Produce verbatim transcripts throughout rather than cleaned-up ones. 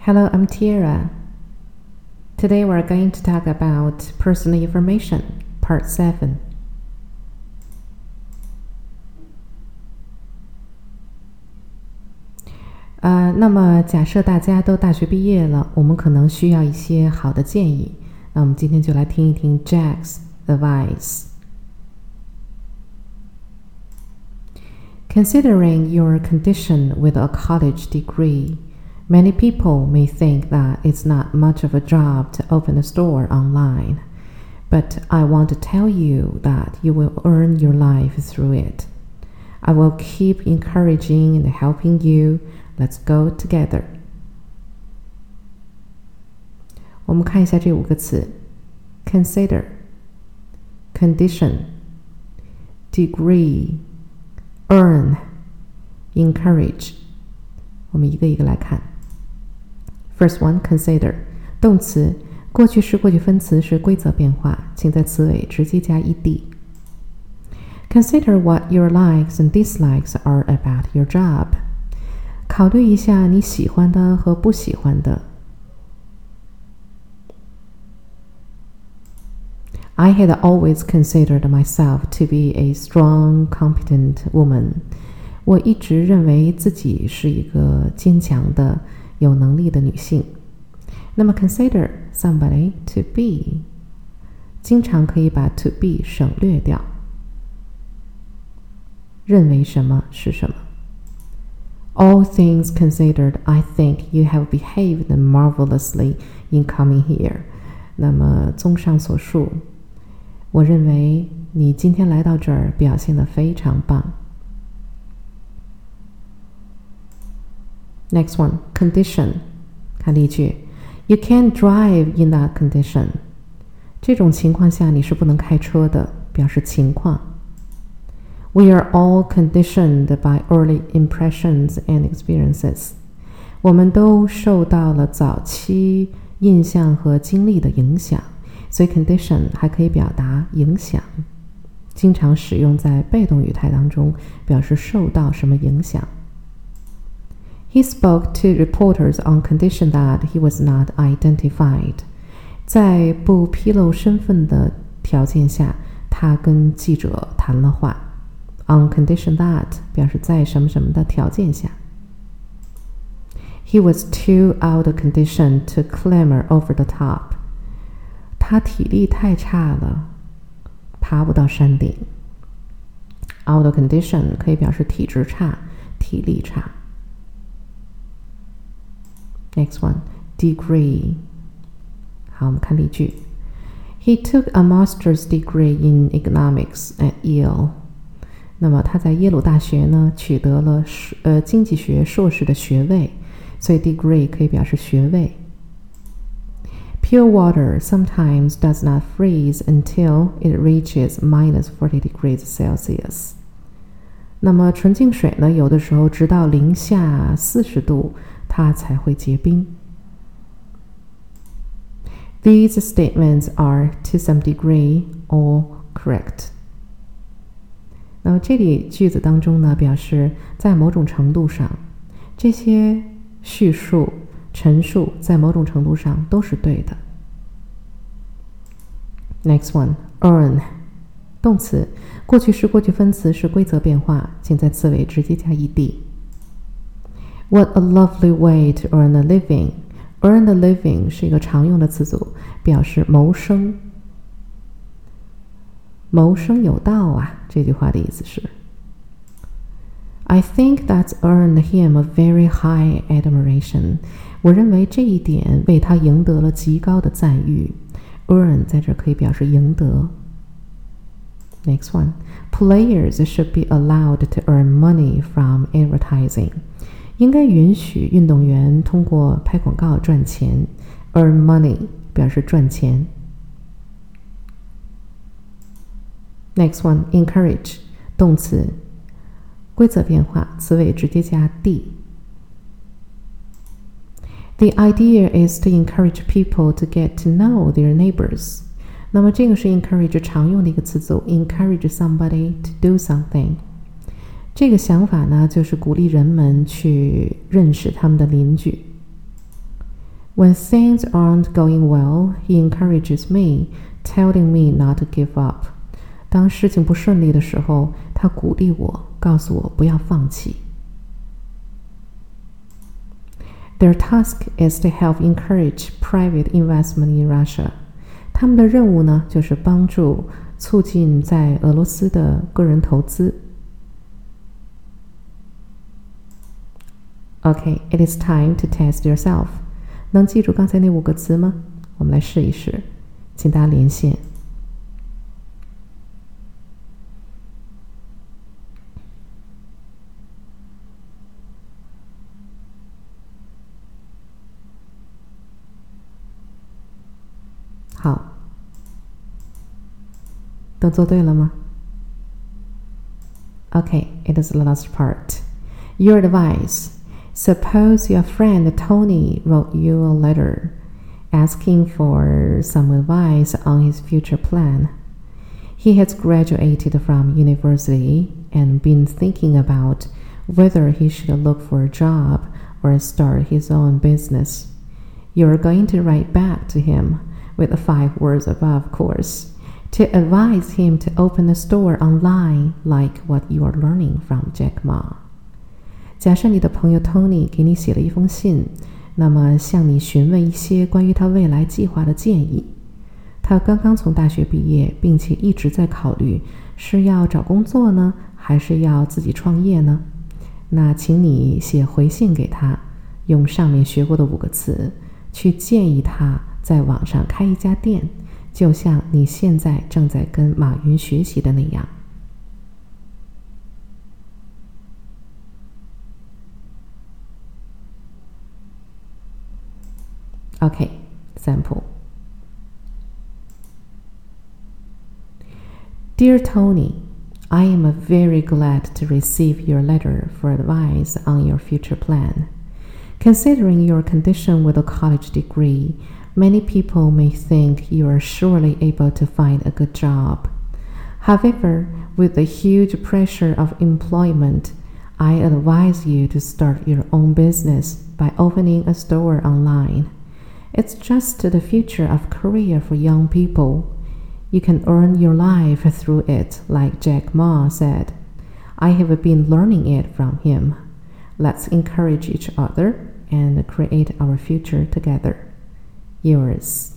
Hello, I'm Tiara. Today we're going to talk about personal information, part seven. 呃，那么假设大家都大学毕业了，我们可能需要一些好的建议。那我们今天就来听一听 Jack's advice. Considering your condition with a college degree, many people may think that it's not much of a job to open a store online. But I want to tell you that you will earn your life through it. I will keep encouraging and helping you. Let's go together. 我们看一下这五个词 Consider, Condition, Degree, Earn, Encourage. 我们一个一个来看 First one, Consider. 动词过去式过去分词是规则变化，请在词尾直接加 ed. Consider what your likes and dislikes are about your job. 考虑一下你喜欢的和不喜欢的。I had always considered myself to be a strong, competent woman. 我一直认为自己是一个坚强的、有能力的女性。那么 consider somebody to be 经常可以把 to be 省略掉。认为什么是什么。All things considered, I think you have behaved marvelously in coming here. 那么综上所述，我认为你今天来到这儿表现得非常棒。Next one, condition. 看例句 You can't drive in that condition. 这种情况下你是不能开车的，表示情况。We are all conditioned by early impressions and experiences. 我们都受到了早期印象和经历的影响，所以 condition 还可以表达影响，经常使用在被动语态当中，表示受到什么影响。He spoke to reporters on condition that he was not identified. 在不披露身份的条件下，他跟记者谈了话。On condition that 表示在什么什么的条件下。He was too out of condition to climb over the top. 他体力太差了，爬不到山顶。Out of condition 可以表示体质差、体力差。Next one, degree. 好，我们看例句。He took a master's degree in economics at Yale. 那么他在耶鲁大学呢取得了呃经济学硕士的学位，所以 degree 可以表示学位。Pure water sometimes does not freeze until it reaches minus forty degrees Celsius. 那么纯净水呢，有的时候直到零下四十度，它才会结冰。These statements are to some degree all correct. 那么这里句子当中呢，表示在某种程度上，这些叙述、陈述在某种程度上都是对的。Next one, earn. 动词过去式过去分词是规则变化，请在词尾直接加 ed. What a lovely way to earn a living. Earn a living 是一个常用的词组，表示谋生。谋生有道啊，这句话的意思是 I think that's earned him a very high admiration. 我认为这一点为他赢得了极高的赞誉。Earn 在这可以表示赢得。Next one, players should be allowed to earn money from advertising. 应该允许运动员通过拍广告赚钱。Earn money 表示赚钱。Next one, encourage. 动词规则变化，词尾直接加 d. The idea is to encourage people to get to know their neighbors. 那么这个是 encourage 常用的一个词组 encourage somebody to do something. 这个想法呢，就是鼓励人们去认识他们的邻居。 When things aren't going well, he encourages me, telling me not to give up. 当事情不顺利的时候，他鼓励我，告诉我不要放弃。Their task is to help encourage private investment in Russia. 他们的任务呢，就是帮助促进在俄罗斯的个人投资。Okay, it is time to test yourself. 能记住刚才那五个词吗？我们来试一试，请大家连线。好，都做对了吗？ Okay, it is the last part. Your advice. Suppose your friend Tony wrote you a letter asking for some advice on his future plan. He has graduated from university and been thinking about whether he should look for a job or start his own business. You are going to write back to him with the five words above course to advise him to open a store online like what you are learning from Jack Ma. 假设你的朋友 Tony 给你写了一封信，那么向你询问一些关于他未来计划的建议。他刚刚从大学毕业，并且一直在考虑是要找工作呢，还是要自己创业呢？那请你写回信给他，用上面学过的五个词去建议他在网上开一家店，就像你现在正在跟马云学习的那样。Okay, sample. Dear Tony, I am very glad to receive your letter for advice on your future plan. Considering your condition with a college degree, many people may think you are surely able to find a good job. However, with the huge pressure of employment, I advise you to start your own business by opening a store online. It's just the future of Korea for young people. You can earn your life through it, like Jack Ma said. I have been learning it from him. Let's encourage each other and create our future together. Yours.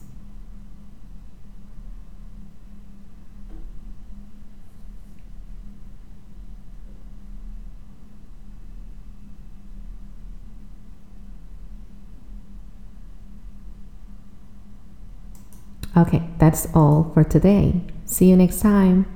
Okay, that's all for today. See you next time.